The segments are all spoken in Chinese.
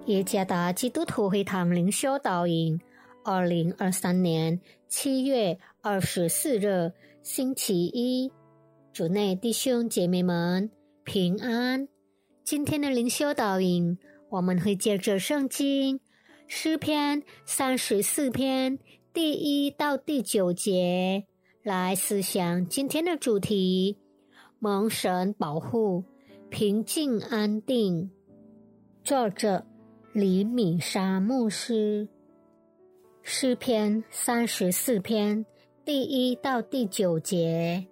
耶加达基督徒会堂灵修导引2023年7月24日星期一，主内弟兄姐妹们平安。今天的灵修导引，我们会借着圣经诗篇34篇第1到第9节来思想今天的主题：蒙神保护，平静安定。作者李米沙牧师。诗篇34篇第1到第9节。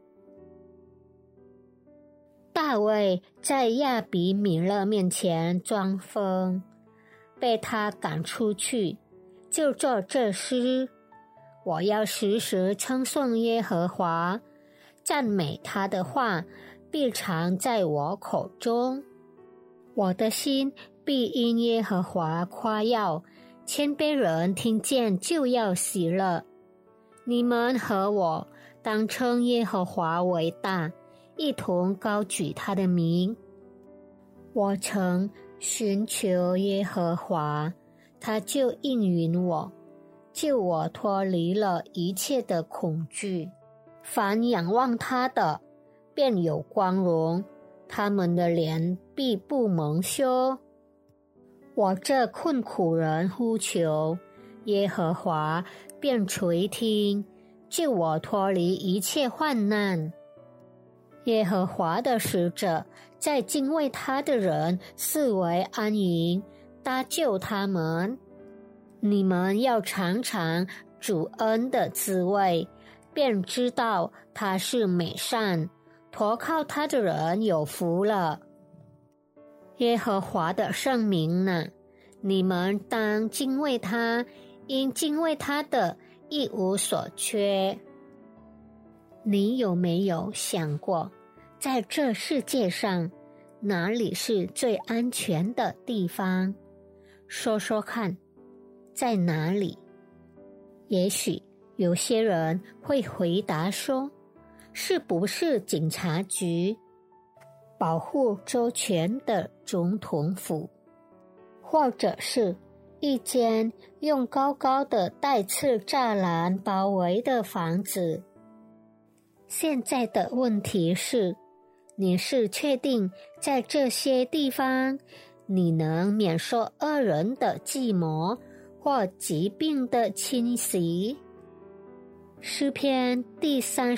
大卫在亚比米勒面前装疯，被他赶出去，就作这诗：我要时时称颂耶和华，赞美他的话必常在我口中。我的心必因耶和华夸耀，谦卑人听见就要喜乐。你们和我当称耶和华为大，一同高举他的名。我曾寻求耶和华，他就应允我，救我脱离了一切的恐惧。凡仰望他的，便有光荣，他们的脸必不蒙羞。我这困苦人呼求，耶和华便垂听，救我脱离一切患难。耶和华的使者在敬畏他的人四围安营，搭救他们。你们要尝尝主恩的滋味，便知道他是美善，投靠他的人有福了。耶和华的圣名呢，你们当敬畏他，因敬畏他的一无所缺。你有没有想过，在这世界上，哪里是最安全的地方？说说看，在哪里？也许有些人会回答说，是不是警察局、保护周全的总统府，或者是一间用高高的带刺栅栏包围的房子？现在的问题是，你是确定在这些地方你能免受恶人的计谋或疾病的侵袭？诗篇第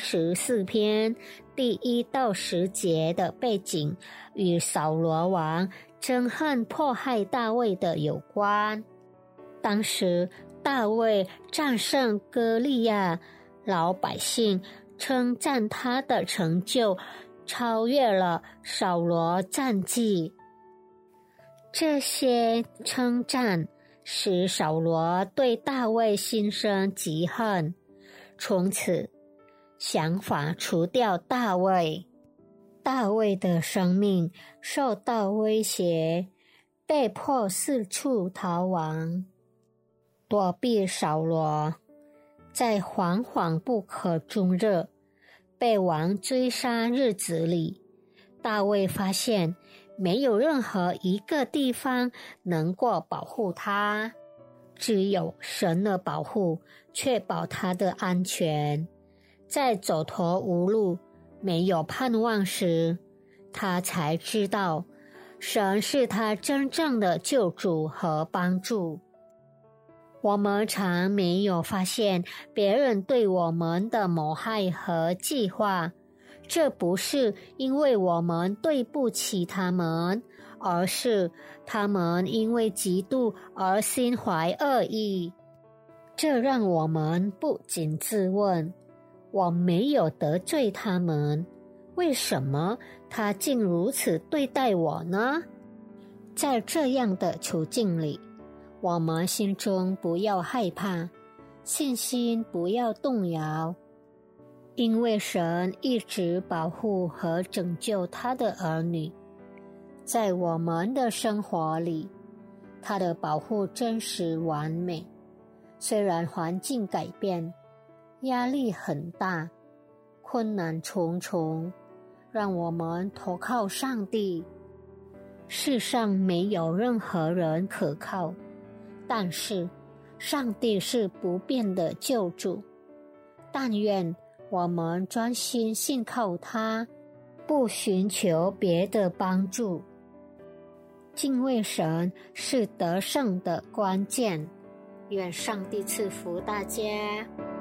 34篇第1到10节的背景与扫罗王憎恨迫害大卫的有关。当时大卫战胜歌利亚，老百姓称赞他的成就超越了扫罗战绩。这些称赞使扫罗对大卫心生嫉恨，从此想法除掉大卫。大卫的生命受到威胁，被迫四处逃亡，躲避扫罗。在惶惶不可终日被王追杀日子里，大卫发现没有任何一个地方能够保护他，只有神的保护确保他的安全。在走投无路、没有盼望时，他才知道神是他真正的救主和帮助。我们常没有发现别人对我们的谋害和计划，这不是因为我们对不起他们，而是他们因为嫉妒而心怀恶意。这让我们不禁自问，我没有得罪他们，为什么他竟如此对待我呢？在这样的处境里，我们心中不要害怕，信心不要动摇，因为神一直保护和拯救他的儿女。在我们的生活里，他的保护真实完美。虽然环境改变，压力很大，困难重重，让我们投靠上帝。 世上没有任何人可靠，但是上帝是不变的救主。但愿我们专心信靠他，不寻求别的帮助。敬畏神是得胜的关键。愿上帝赐福大家。